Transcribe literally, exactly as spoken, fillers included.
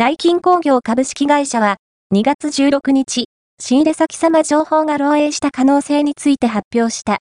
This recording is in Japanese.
ダイキン工業株式会社は、にがつじゅうろくにち、仕入れ先様情報が漏洩した可能性について発表した。